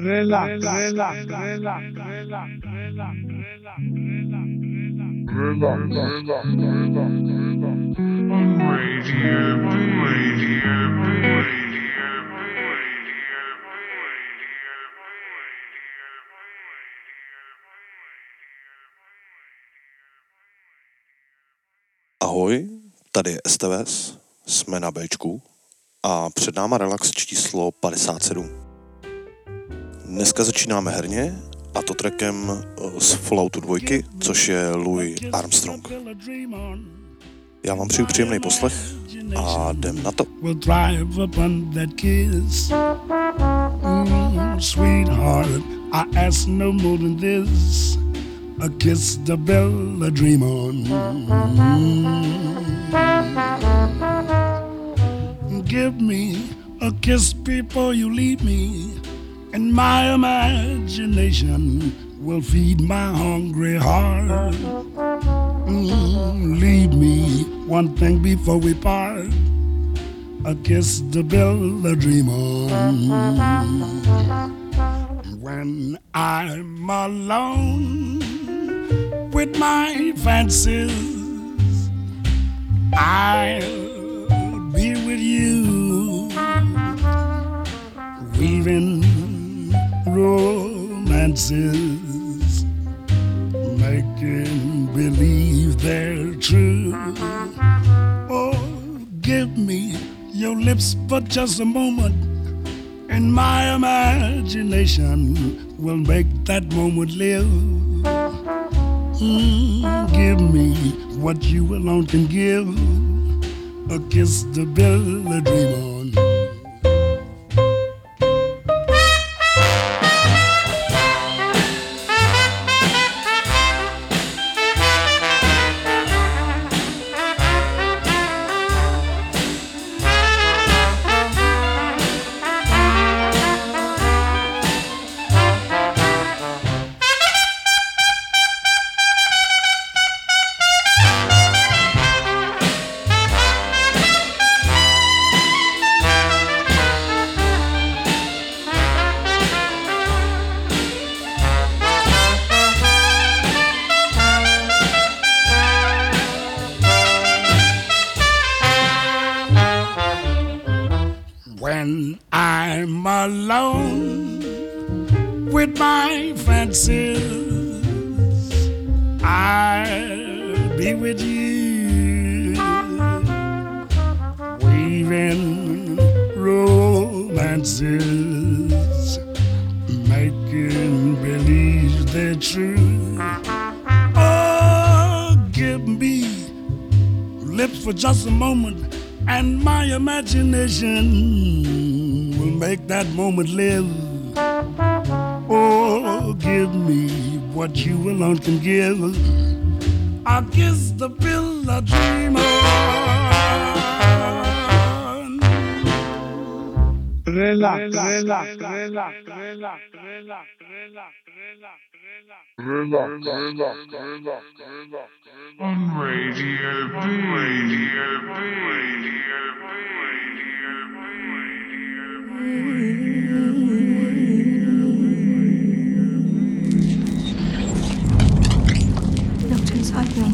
Ahoj, tady je STVS, jsme na Bčku a před náma relax číslo 57. Dneska začínáme herně, a to trackem z Falloutu 2, což je Louis Armstrong. Já vám přeju příjemný poslech a jdem na to. Sweetheart, I ask no more than this. A kiss the bell, a dream on. Give me a kiss before you leave me, and my imagination will feed my hungry heart. Leave me one thing before we part. A kiss the bell, a dream on. When I'm alone with my fancies, I'll be with you, weaving romances, making believe they're true. Oh, give me your lips for just a moment, and my imagination will make that moment live. Give me what you alone can give. A kiss to build a dream on. When I'm alone with my fancies, I'll be with you, weaving romances, making believe they're true. Oh, give me lips for just a moment, and my imagination will make that moment live. Oh, give me what you alone can give. I'll kiss the pill I dream on. Relax, relax, relax, relax, relax, relax, on Radio B. Looked inside me.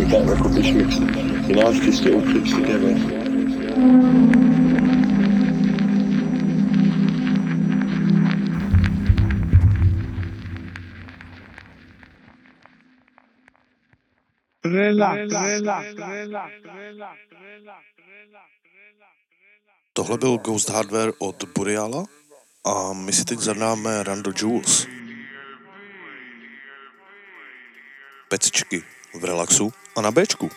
that record this mix. He likes this little clips together. Tohle byl Ghost Hardware od Boreala a my si teď zadáme Randall Jewels. Pecičky v relaxu a na Bčku.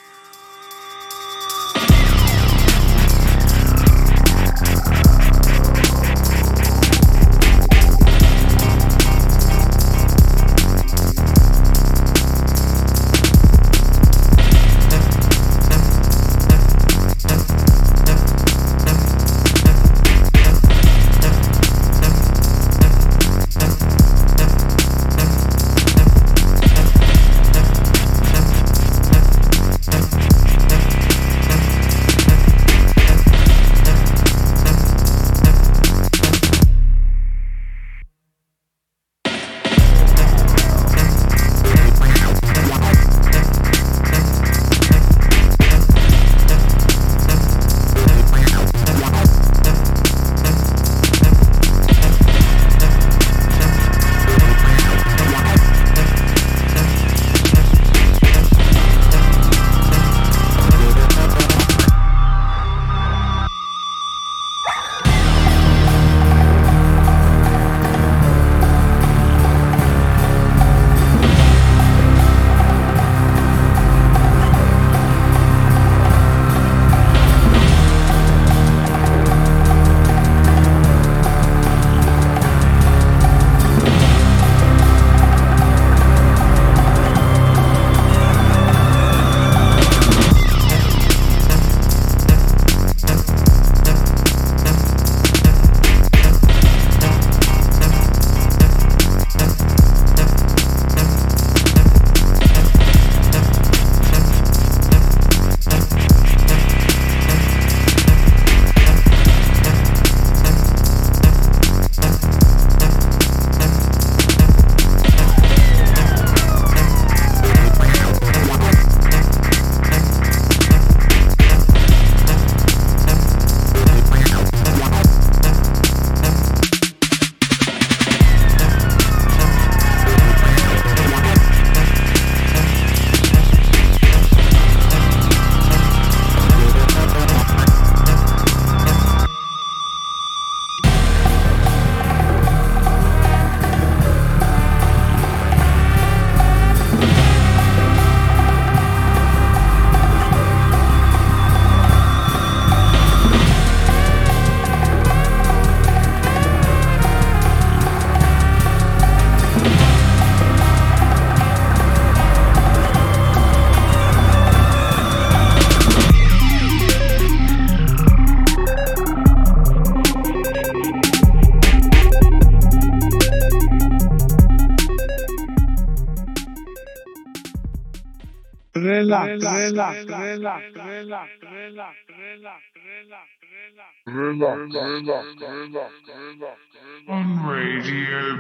On Radio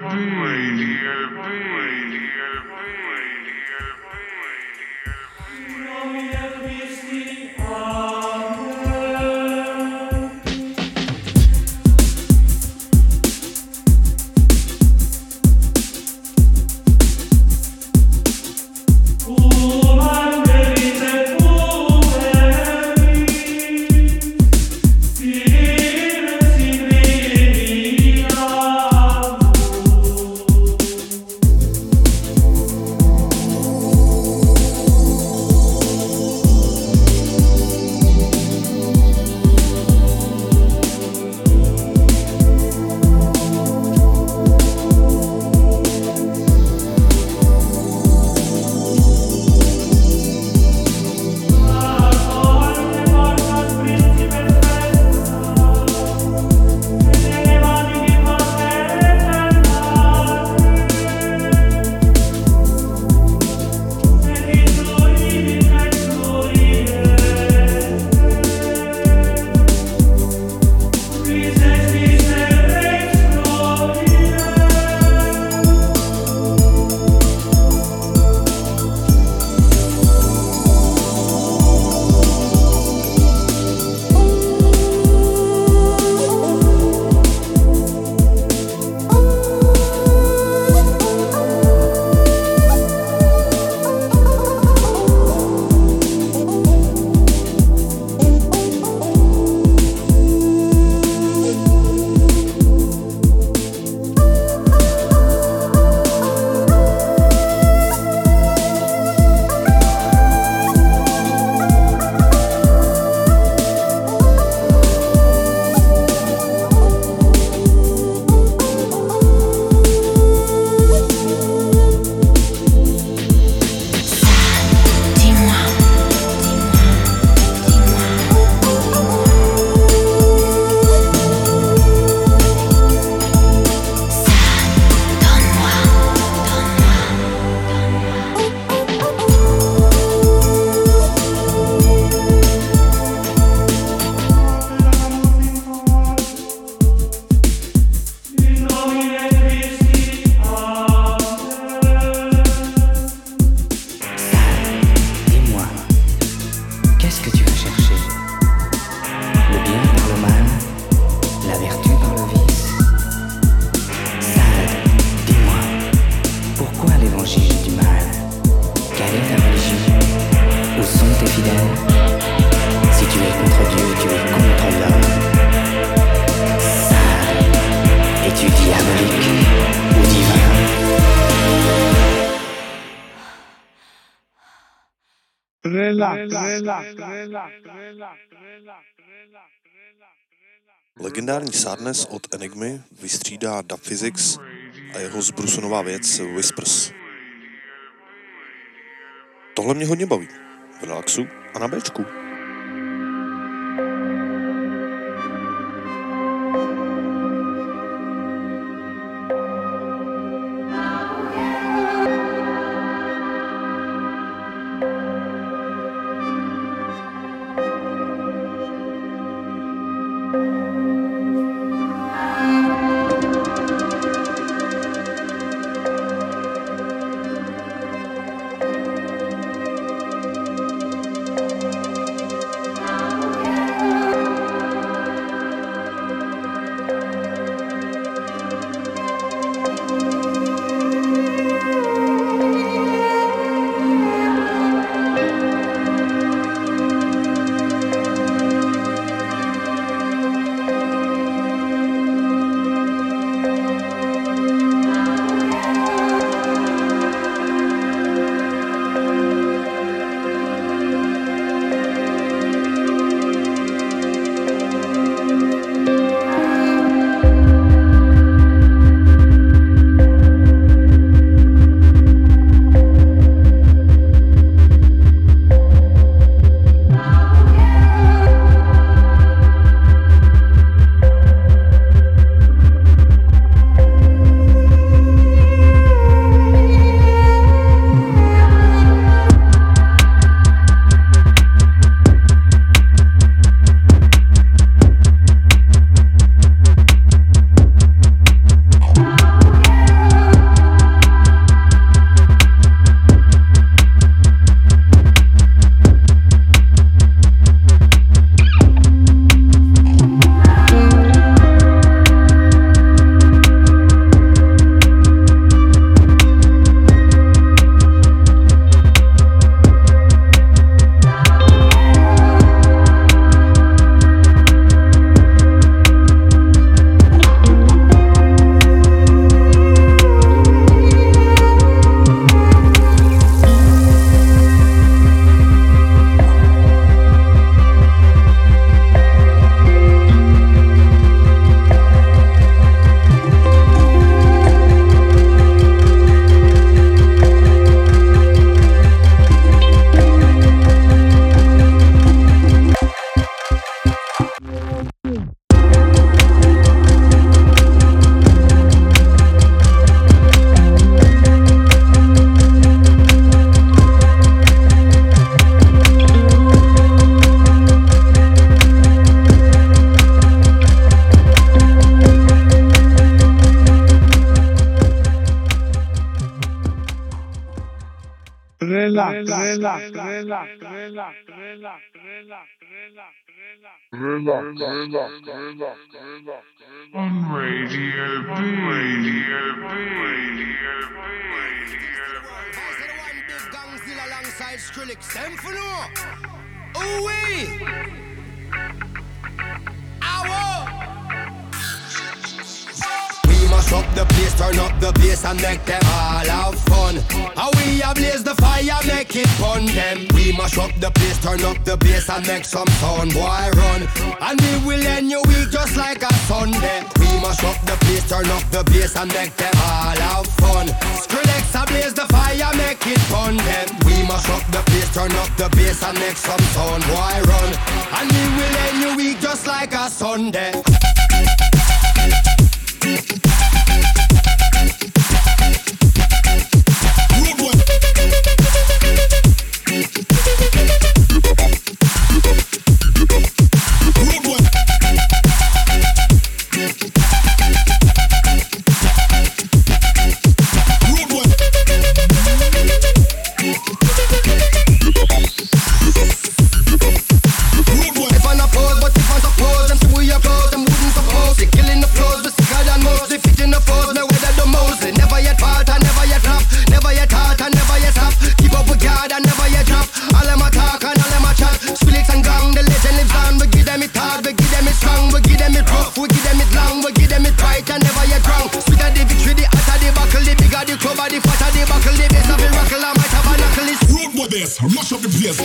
fidèle. Si tu es contre Dieu, tu es contre l'homme. Sale, es-tu diabolique ou divin? Legendární Sadness od Enigmy vystřídá Dub Physics a jeho zbrusunová věc Whispers. Tohle mě hodně baví. V relaxu a na Bčku. On Radio B. Alongside Skrillex, them for no. Ooh-wee! Mash up the place, turn up the bass and make them all have fun. How we ablaze the fire, make it fun them. We mash up the place, turn up the bass and make some sound, boy run. And we will end your week just like a Sunday. We mash up the place, turn up the bass and make them all have fun. Skrillex ablaze the fire, make it fun them. We mash up the place, turn up the bass and make some sound, boy run. And we will end your week just like a Sunday. If I not pose, but if I suppose them see we applause, them wouldn't bass, mash up the place.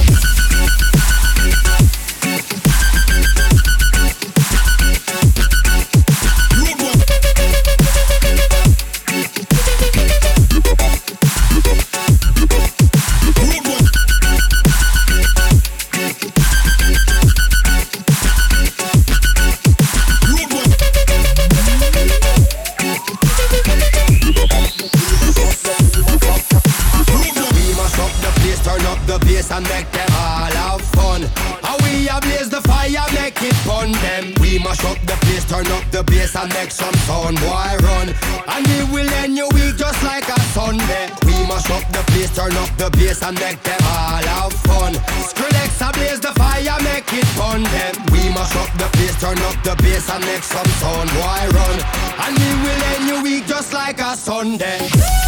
And make them all have fun. And we ablaze the fire, make it fun them. We mash up the place, turn up the bass and make some sound, boy run. And we will end your week just like a Sunday. We mash up the place, turn up the bass and make them all have fun. Skrillex ablaze the fire, make it fun them. We mash up the place, turn up the bass and make some sound, boy run. And we will end your week just like a Sunday.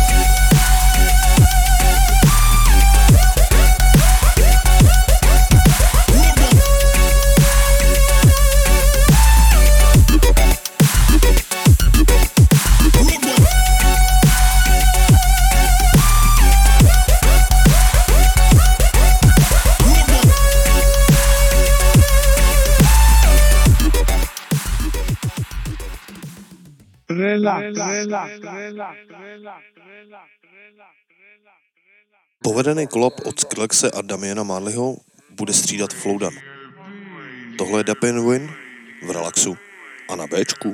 Povedený kolab od Skrillexe a Damiana Marleyho bude střídat Flowdan. Tohle je Dap and Win v Relaxu a na Bčku.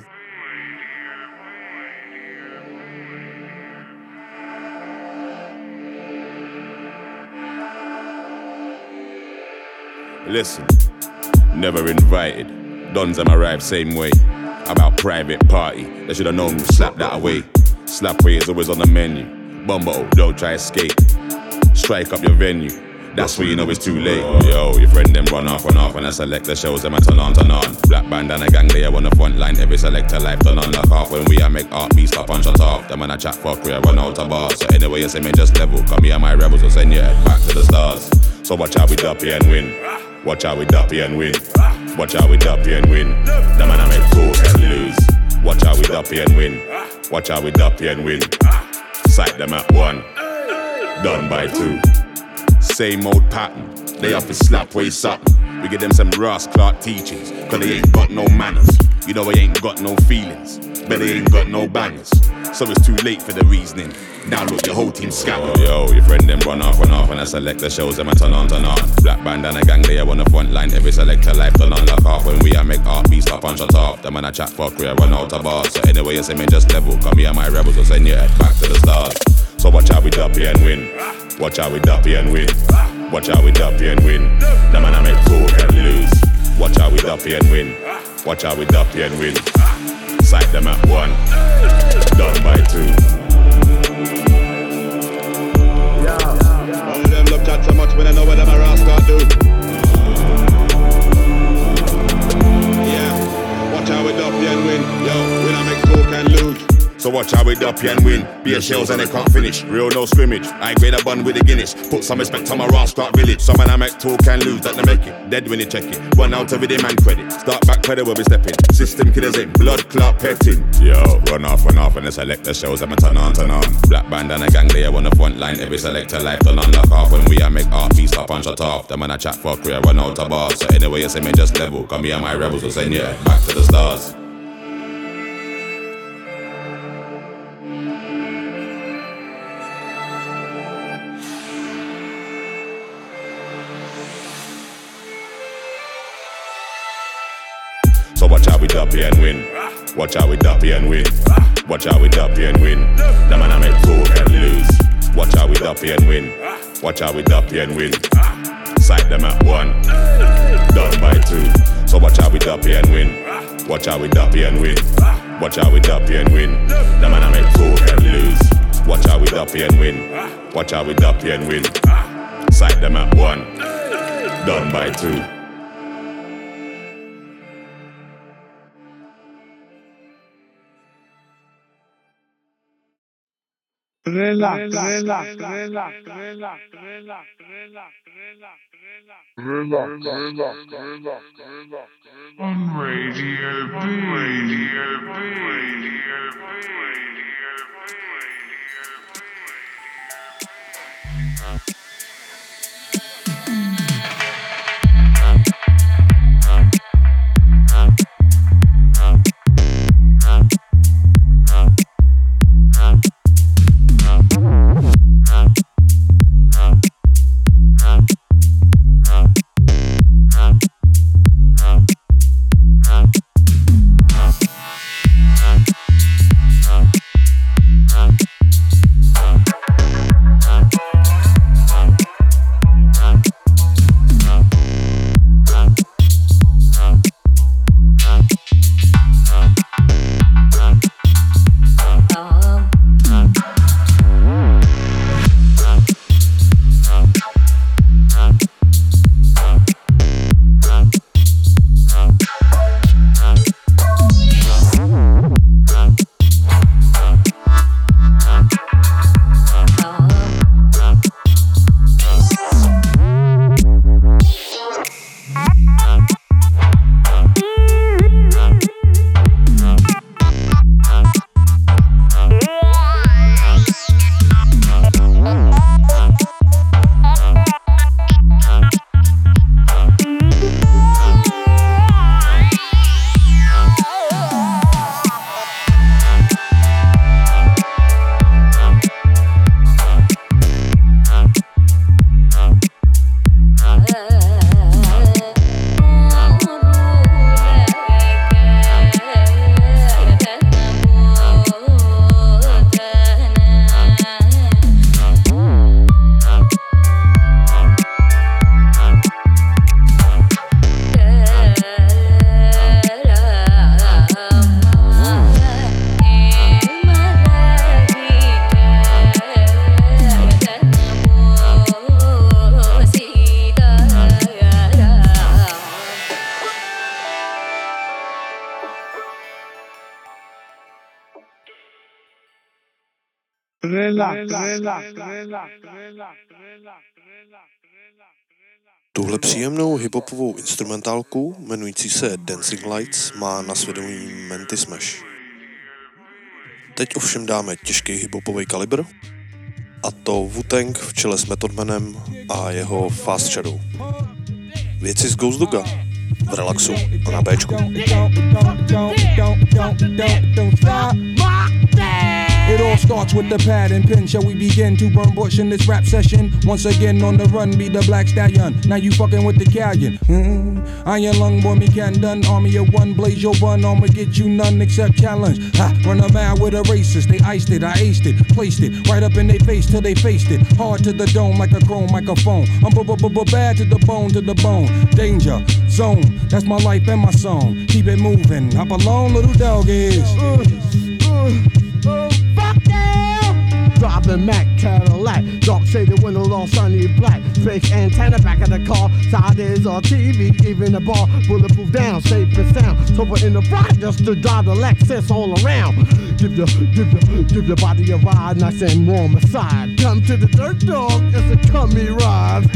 Listen, never invited. Dons them arrive same way. About private party, they should have known, slap that away. Slap way is always on the menu. Bumbo, don't try escape. Strike up your venue, that's where you know it's too late. Yo, your friend them run off, and I select the shows them I turn on. Black band and a gang, they are on the front line. Every selector life turn on lock off. When we a make art beats stop and shut off. Them man a chat fuck, we a run out of bars. So anyway you say me just level, come here my rebels will send your head back to the stars. So watch how we duppy and win. Watch how we duppy and win. Watch how we duppy and win. Them man a make talk and lose. Watch how we duppy and win. Watch how we duppy and win. Sight them at one, done by two. Same old pattern, they have to slap way something. We give them some Ross Clark teachings, cause they ain't got no manners. You know they ain't got no feelings, but they ain't got no bangers. So it's too late for the reasoning. Now look, your whole team scattered. Yo, your friend them run off, and I select the shows them I turn on. Black band and a gang, they are on the front line. Every selector life turn on lock off. When we a make art beats stop and shut off. Them man a chat fuck, we a run out of bars. So anyway you say me just level, come here my rebels will send your head back to the stars. So watch how we duppy and win. Watch how we duppy and win. Watch how we duppy and win. The man I make talk and lose. Watch how we duppy and win. Watch how we duppy and win. Sight them at one, done by two. All of them love chat so much when I know what them a rascal do. Yeah, watch how we duppy and win. Yo, when I make talk and lose. So watch how we duppy and win. Beer shells and they can't finish. Real no scrimmage. I grade a bun with the Guinness. Put some respect on my Rastart village. Some man I make talk and lose that they make it. Dead when you check it. Run out of it, man credit. Start back pedal where we stepping. System killers in. Blood clot petting. Yo, run off and they select the shows that I turn on. Black band and a gang, they are on the front line. Every selector life turn on lock off. When we a make art beats stop and shut off. The man a chat fuck, we a run out of bars. So anyway you say me just level. Come here my rebels will send you back to the stars. So watch how we duppy and win. Watch how we duppy and win. Watch how we duppy and win. The man I make talk and lose. Watch how we duppy and win. Watch how we duppy and win. Sight them at one, done by two. So watch how we duppy and win. Watch how we duppy and win. Watch how we duppy and win. The man I make talk and lose. Watch how we duppy and win. Watch how we duppy and win. Sight them at one, done by two. Relax. On Radio B. Tuhle příjemnou hiphopovou instrumentálku jmenující se Dancing Lights má na svědomí Menty Smash. Teď ovšem dáme těžký hiphopový kalibr, a to Wu-Tang v čele s Method Manem a jeho Fast Shadow. Věci z Ghost Doga v relaxu a na Bčku. It all starts with the pad and pen. Shall we begin to burn bush in this rap session? Once again on the run, be the black stallion. Now you fucking with the Callion. Iron lung boy, me can done. Army of one, blaze your bun. I'ma get you none except challenge. Ha, run a mile with a racist. They iced it, I aced it, placed it right up in their face till they faced it. Hard to the dome like a chrome microphone. I'm bad to the bone. Danger zone, that's my life and my song. Keep it moving. Hop along, little dog is. Fuck yeah! Driving Mac Cadillac, dark shaded windows all sunny black. Fake antenna back of the car, side is on TV, even the bar, bulletproof down, safe and sound. Sober in the front just to drive the Lexus all around. Give your body a ride, nice and warm aside. Come to the dirt dog, it's a cummy ride.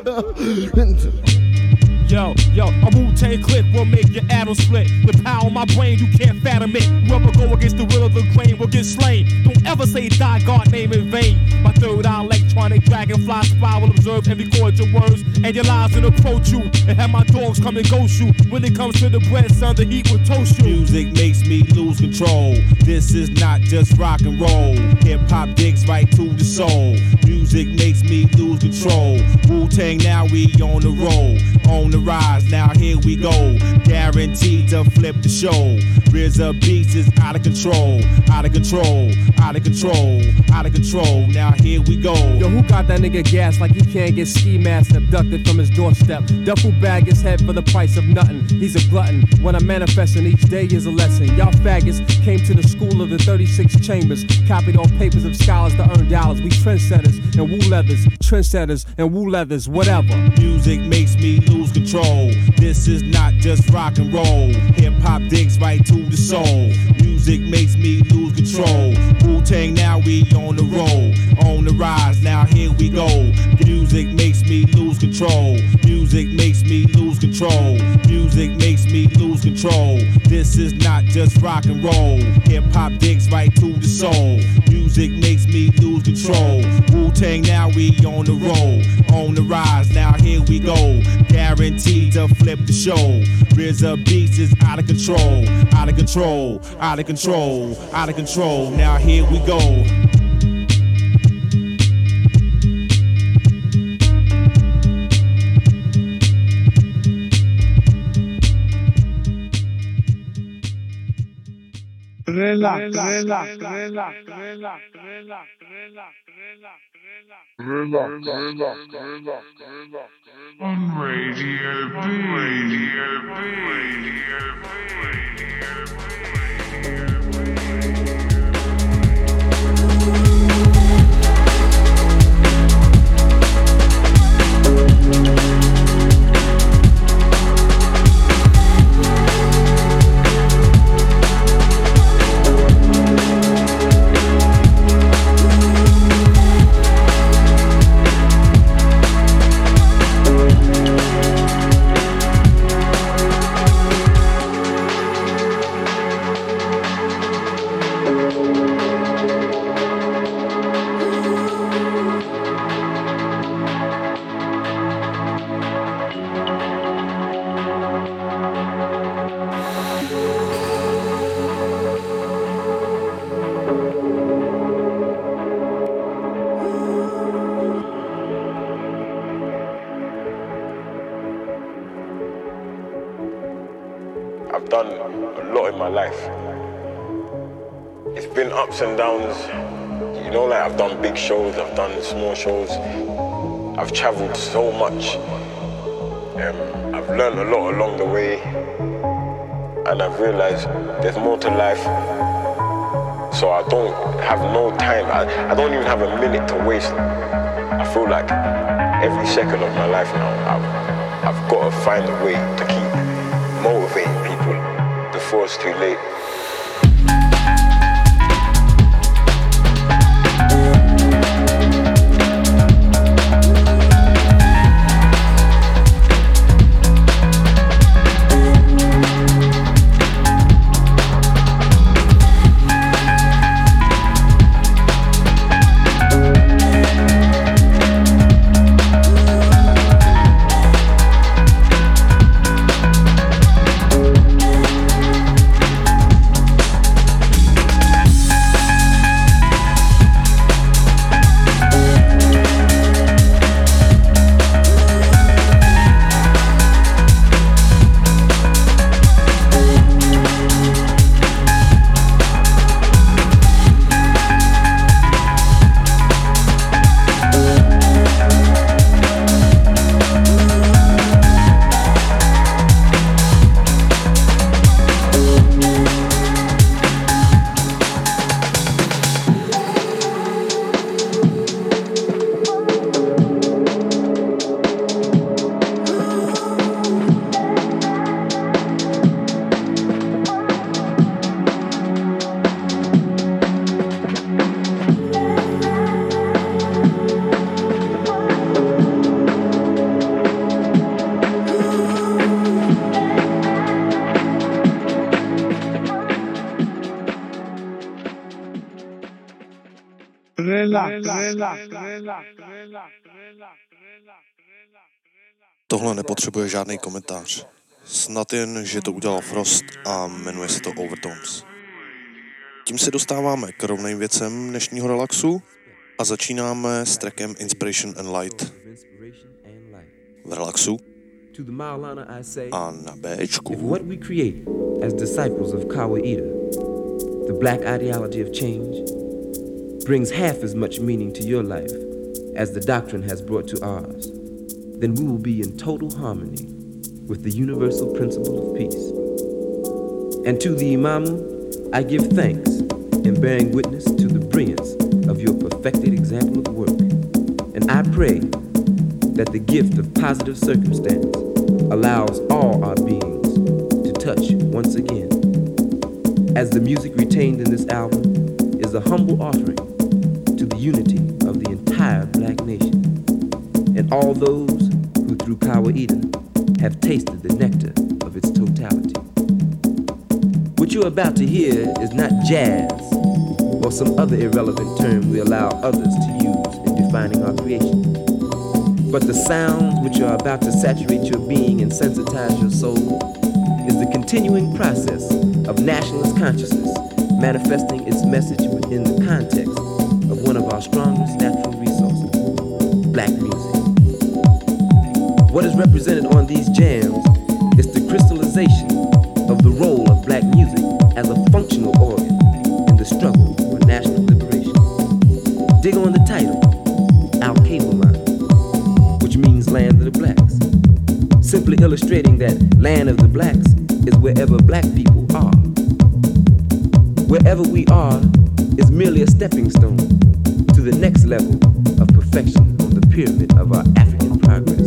Yo, a Wu-Tang click will make your atom split. The power of my brain, you can't fathom it. Whoever go against the will of the grain will get slain. Don't ever say die God name in vain. My third eye electronic dragonfly spy will observe and record your words and your lies will approach you and have my dogs come and ghost you. When it comes to the bread, son, the heat will toast you. Music makes me lose control. This is not just rock and roll. Hip-hop digs right to the soul. Music makes me lose control. Wu-Tang, now we on the roll. On the rise, now here we go. Guaranteed to flip the show. RZA Beats is out of control. Out of control. Out of control. Out of control. Now here we go. Yo, who got that nigga gas like he can't get ski masked abducted from his doorstep? Duffel bag his head for the price of nothing. He's a glutton. When I'm manifesting, each day is a lesson. Y'all faggots came to the school of the 36 chambers, copied on papers of scholars to earn dollars. We trendsetters and wool leathers, trendsetters and wool leathers, whatever. Music makes me lose control. This is not just rock and roll. Hip hop digs right to the soul. Music makes me lose control. Wu-Tang, now we on the roll. On the rise, now here we go. Music makes me lose control. Music makes me lose control. Music makes me lose control. This is not just rock and roll. Hip hop digs right to the soul. Music makes me lose control. Wu-Tang, now we on the roll. On the rise, now here we go. Guaranteed to flip the show. RZA Beats is out of control. Out of control. Out of control. Out of control. Now here we go. On Radio I've done a lot in my life. It's been ups and downs. You know, like I've done big shows, I've done small shows. I've traveled so much. I've learned a lot along the way. And I've realized there's more to life. So I don't have no time. I don't even have a minute to waste. I feel like every second of my life now, I've got to find a way to keep motivating people before it's too late. Tohle nepotřebuje žádný komentář. Snad jen, že to udělal Frost a jmenuje se to Overtones. Tím se dostáváme k rovným věcem dnešního relaxu a začínáme s trackem Inspiration and Light. V relaxu a na Bčku. What we create as disciples of Kawaida, the black ideology of change, brings half as much meaning to your life as the doctrine has brought to ours, then we will be in total harmony with the universal principle of peace. And to the Imamu, I give thanks in bearing witness to the brilliance of your perfected example of work. And I pray that the gift of positive circumstance allows all our beings to touch once again. As the music retained in this album is a humble offering to the unity of the entire black nation and all those who through Kawaida have tasted the nectar of its totality. What you're about to hear is not jazz or some other irrelevant term we allow others to use in defining our creation, but the sounds which are about to saturate your being and sensitize your soul is the continuing process of nationalist consciousness manifesting its message within the context of one of our strongest natural resources, black music. What is represented on these jams is the crystallization of the role of black music as a functional organ in the struggle for national liberation. Dig on the title, Al-Kawaman, which means land of the blacks, simply illustrating that land of the blacks is wherever black people are. Wherever we are is merely a stepping stone to the next level of perfection on the pyramid of our African progress.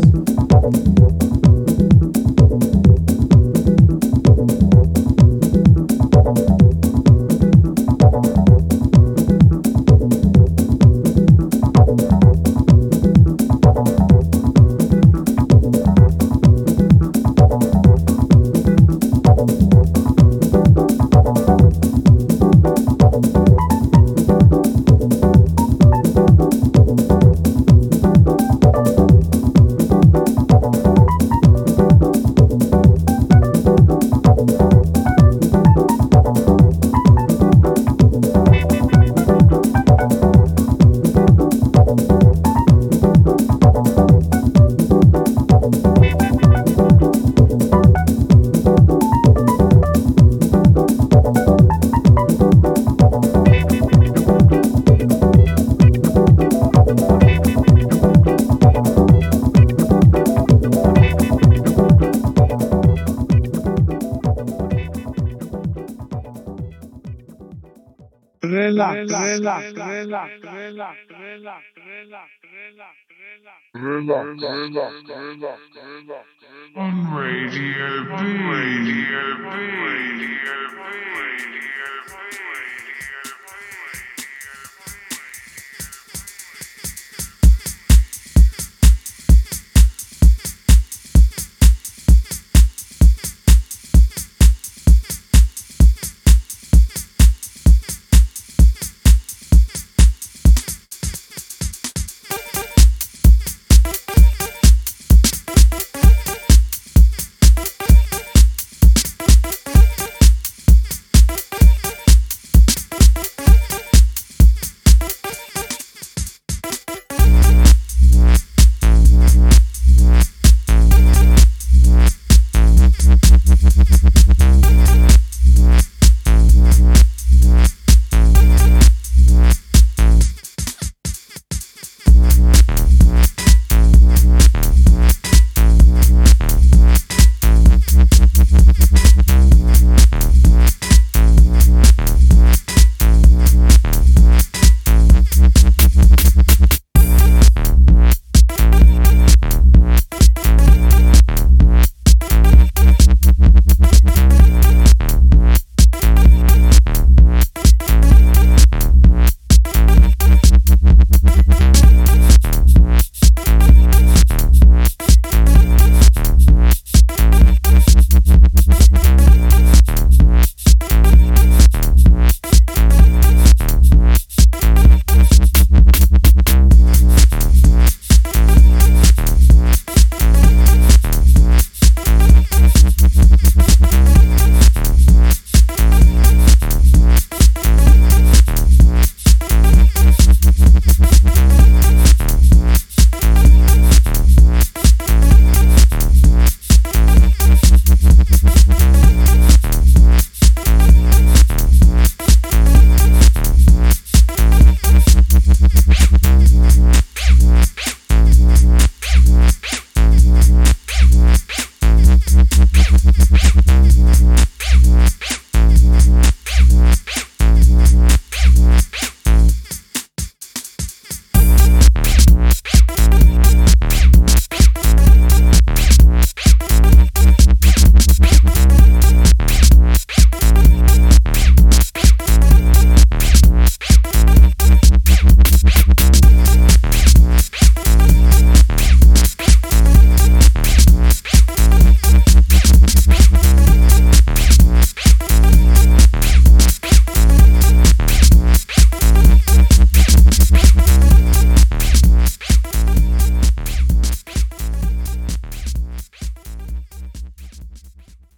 On Radio B.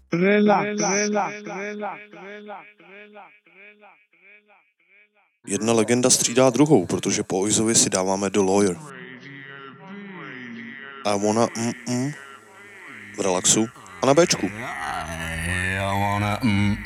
Jedna legenda střídá druhou, protože po Oizovi si dáváme do Lawyer. I wanna v relaxu a na Bčku. I wanna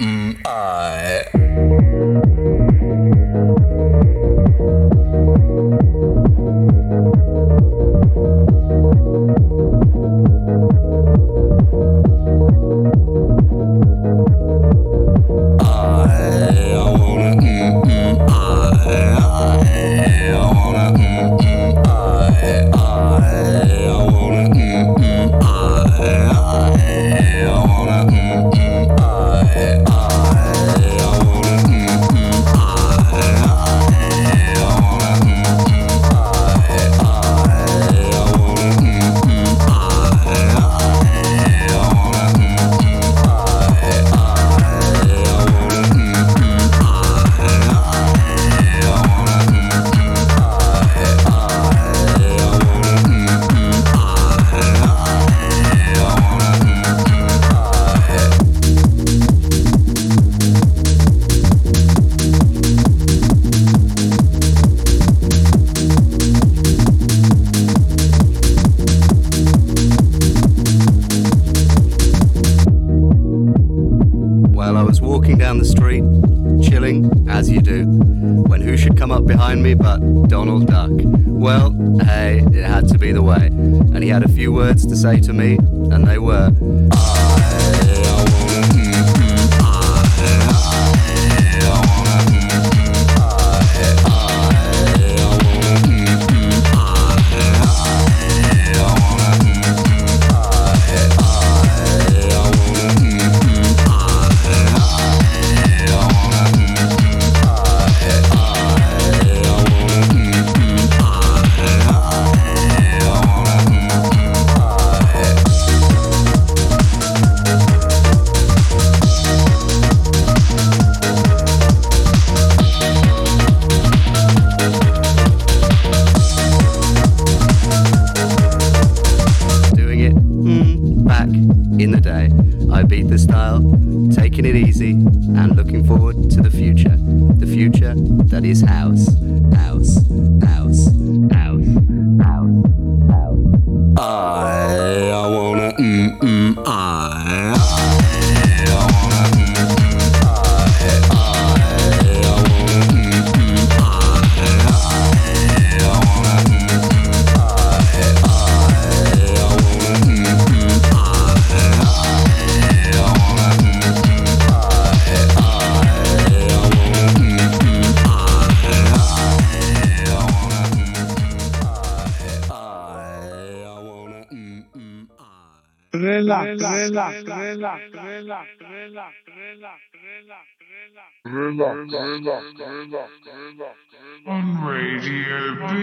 me but Donald Duck. Well, hey, it had to be the way. And he had a few words to say to me, and they were that is house, house, house, house, house, house. I wanna on Radio B.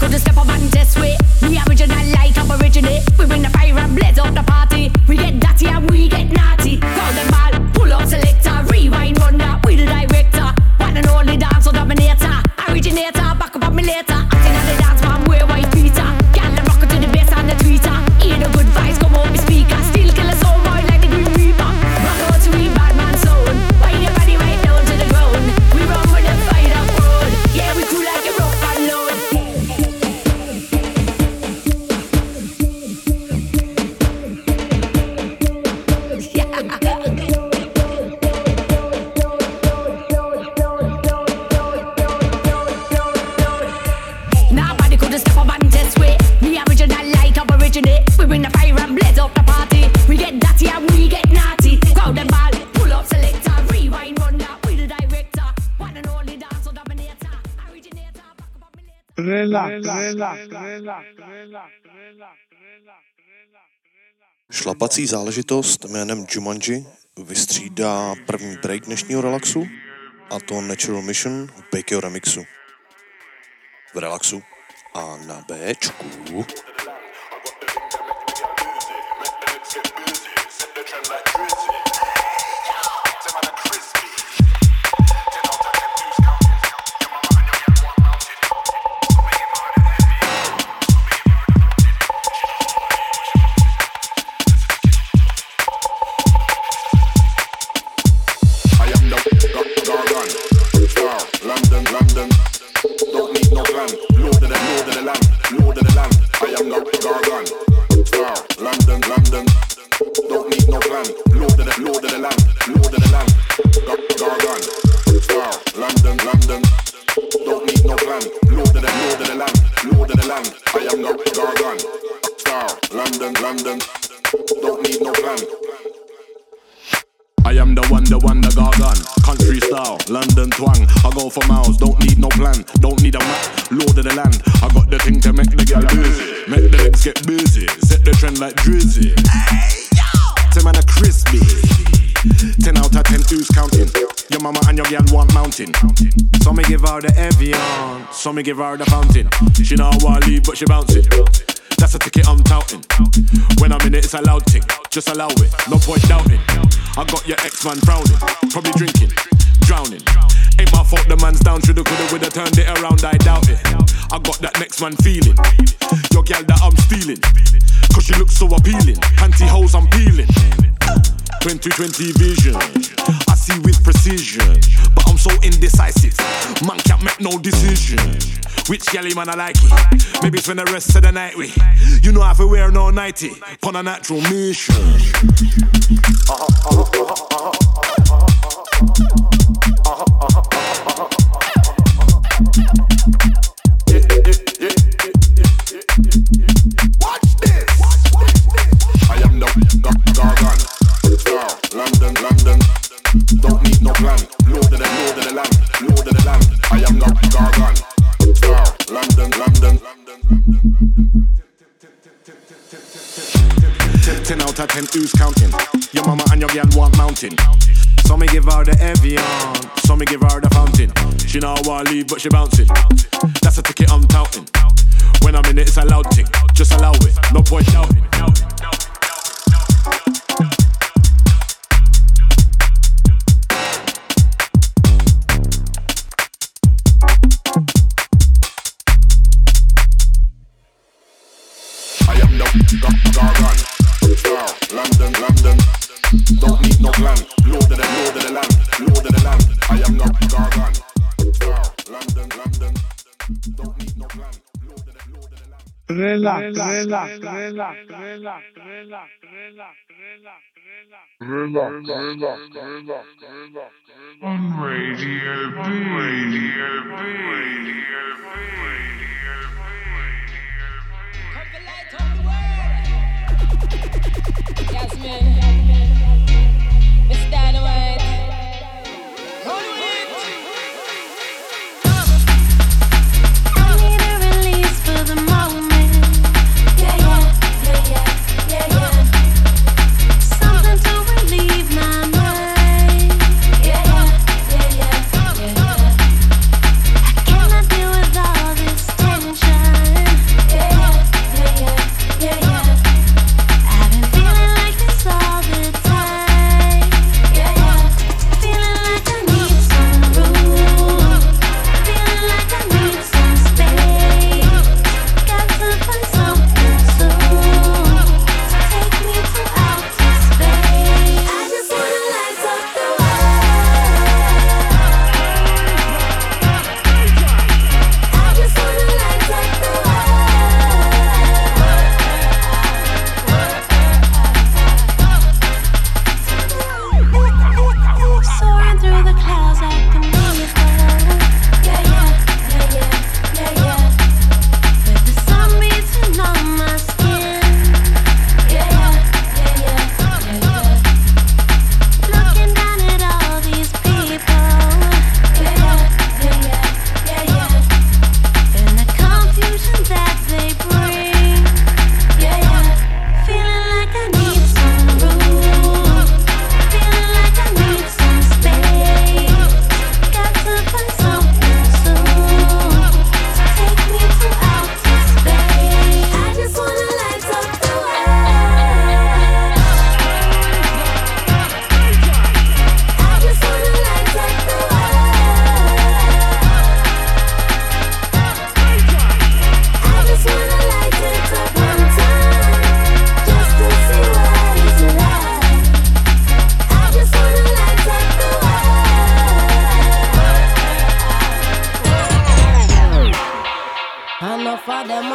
could step up and test way. Me original like aborigine. We bring the fire and blaze up the party. We get dirty and we get naughty. Call them all, pull up selector, rewind run that with the director. One and only dance dominator, originator, back up on me later. Acting on the dance man, wear white Peter. Girl, them rock to the bass and the tweeter. Hear the good vibes come out me speaker. Still kill a soul boy like the Green Reaper. Rock out to we bad man zone. Why your body right down to the ground? We run with the fight up road. Yeah, we cool like a rock and load. Nobody could step up and test way. Me original like aborigine. We bring the fire and blaze up the party. We get dirty and we get naughty. Crowd them ball, pull up selector, rewind run that with the director. One and only dance dominator, originator. Šlapací záležitost jménem Jumanji vystřídá první break dnešního relaxu, a to Natural Mission v Bakeo remixu. V relaxu a na Bčku. I am the one, the gargan. Country style, London twang. I go for miles, don't need no plan. Don't need a map, lord of the land. I got the thing to make the girl busy. Make the legs get busy. Set the trend like Drizzy. Hey, yo! 10 man a crispy. 10 out of 10, who's counting? Your mama and your girl want mountain. So me give her the Evian, so me give her the fountain. She know I wanna leave, but she bouncing. That's a ticket I'm touting. When I'm in it, it's a loud tick. Just allow it, no point doubting. I got your ex-man frowning, probably drinking, drowning. Ain't my fault the man's down, shoulda coulda woulda turned it around, I doubt it. I got that next man feeling, your gal that I'm stealing. Cause she looks so appealing, pantyhose I'm peeling. 2020 vision, I see with precision. But I'm so indecisive, man can't make no decision. Which galley man I like it? Maybe spend the rest of the night with. You know I have to wear no nightie, on a natural mission. Watch this. I am the gargan. London, London. Don't need no plan. Lord of the land, Lord of the land. I am the gargan. London, London. 10 out of 10, who's counting? Your mama and your girl want mountain. So me give her the Evian, so me give her the fountain. She know I wanna leave, but she bouncing. That's a ticket I'm touting. When I'm in it, it's a loud thing. Just allow it, no point doubting. I am the gargan. London, London. Don't need no plan. Lord of the land, Lord of the land. I am the gargan. London, London. Don't need no plan. Lord of the land. Relax. On Radio B. Jasmine, Mr. Dynamite. I need a release for the moment. Yeah. Something to relieve my mind. Yeah. I cannot deal with all this tension.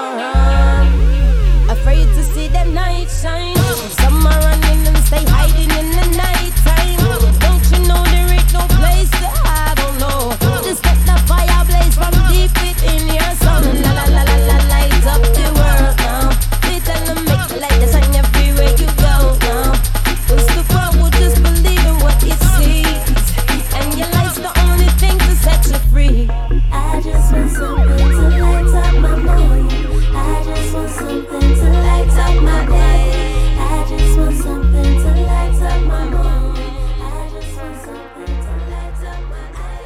Afraid to see the night shine. Some are running and stay hiding in the night time. Don't you know there ain't no place to hide? Oh no. Just let the fire blaze from deep within your soul. La la la la la, light up the world now. They tell them make the light that shine everywhere you go now. 'Cause the world will just believe in what it sees, and your light's the only thing to set you free. I just want something to light up my morning. I just want something to light up my day. I just want something to light up my morning. I just want something to light up my day.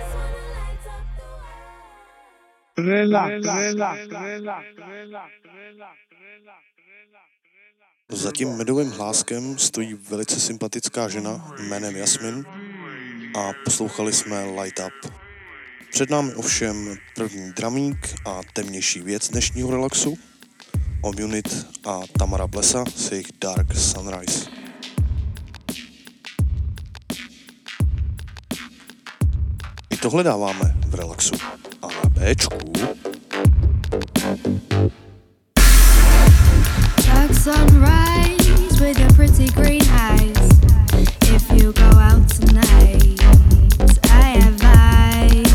Za tím medovým hláskem stojí velice sympatická žena jménem Jasmin a poslouchali jsme Light Up. Před námi ovšem první dramík a temnější věc dnešního relaxu. Omunit a Tamara Blesa s jejich Dark Sunrise. I tohle dáváme v relaxu. A na Bčku Dark sunrise with your pretty green eyes. If you go out tonight, I advise.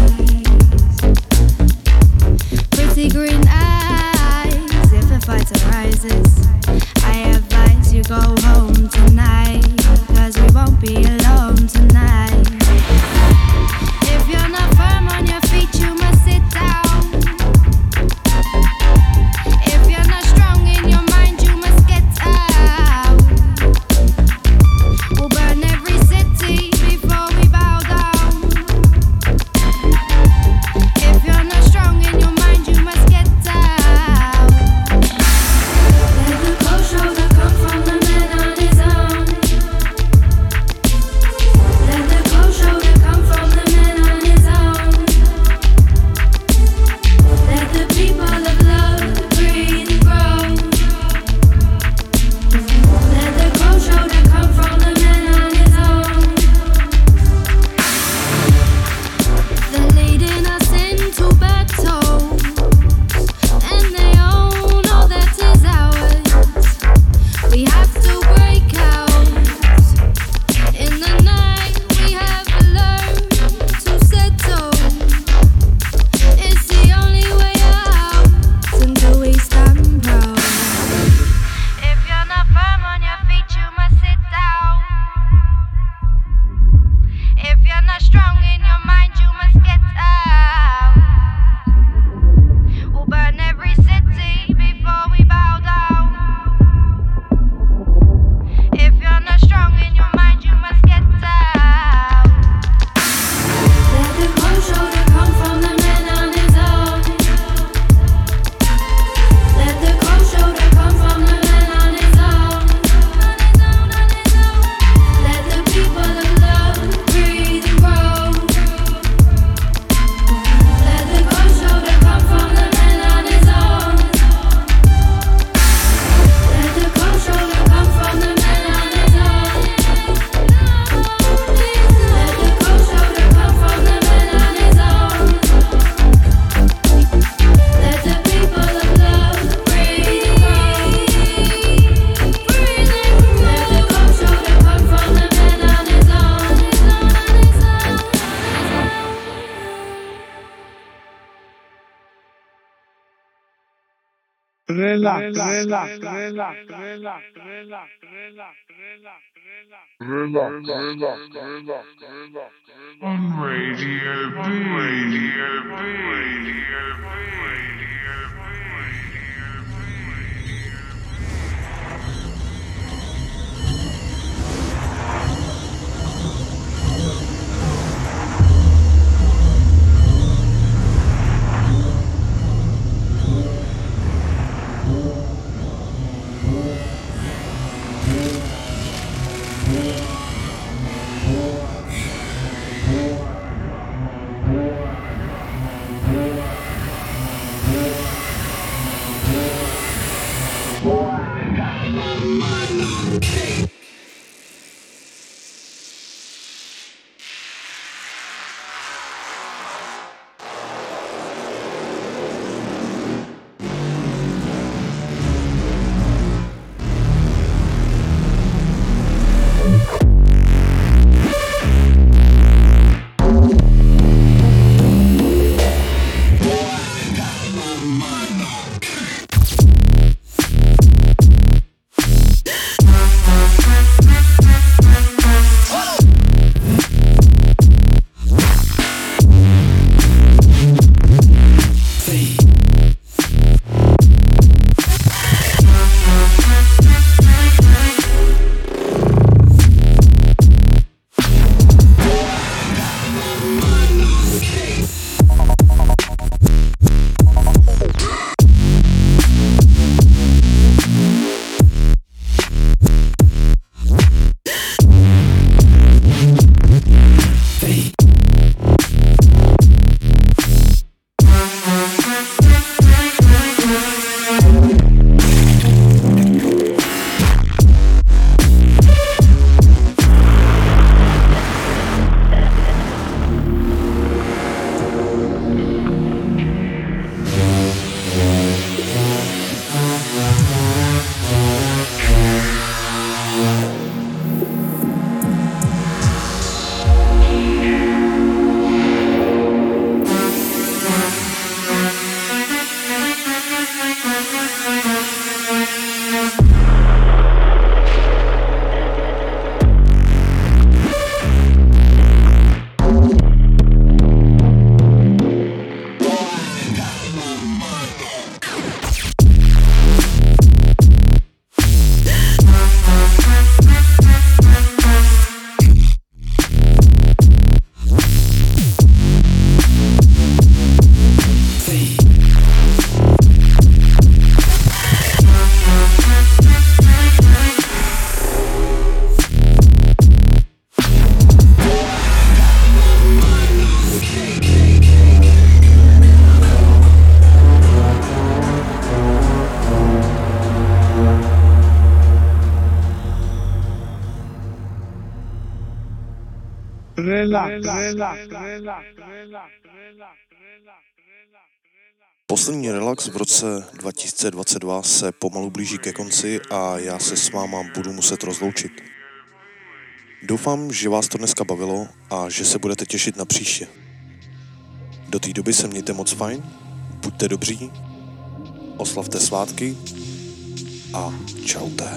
Pretty green eyes. If a fight arises, I advise you go home tonight. 'Cause we won't be alone tonight. If you're not firm on your feet, you must sit down. If you're not strong in your mind, you must get out. We'll burn every city before we bow down. If you're not strong in your mind, you must get out. Let the cold shoulder come from the man on his own. Let the cold shoulder come from the man on his own. Let the people of love breathe and grow. Let the cold shoulder come from the man on his own. They're leading us into battle, and they all know that is ours. We have to break out. In the night we have learned to settle. It's the only way out until we stand proud. If you're not firm on your feet, you must sit down. If you're not strong in your mind, you must get out. We'll burn every city before we bow down. If you're not strong in your mind, you must get out. Let the cold shoulder come from the man on his own. Let the cold shoulder come from the man on his own. Let the people of love breathe and grow. Let the cold shoulder come from the man on his own. Let the cold shoulder come from the man on his own. Let the cold shoulder come from the man on his own. Let the people of love breathe and grow. Let the cold shoulder come from the man on his own. On Radio B. Poslední relax v roce 2022 se pomalu blíží ke konci a já se s váma budu muset rozloučit. Doufám, že vás to dneska bavilo a že se budete těšit na příště. Do té doby se mějte moc fajn, buďte dobří, oslavte svátky a čaute.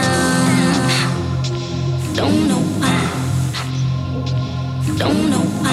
Don't know why.